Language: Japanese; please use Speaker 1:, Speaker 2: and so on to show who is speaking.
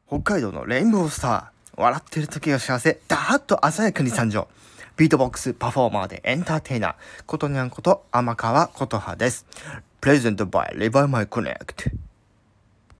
Speaker 1: 北海道のレインボースター、笑ってる時が幸せ、ダーッと鮮やかに参上。ビートボックスパフォーマーでエンターテイナー、ことにゃんこと天川琴葉です。プレゼントバイリバイマイコネクト。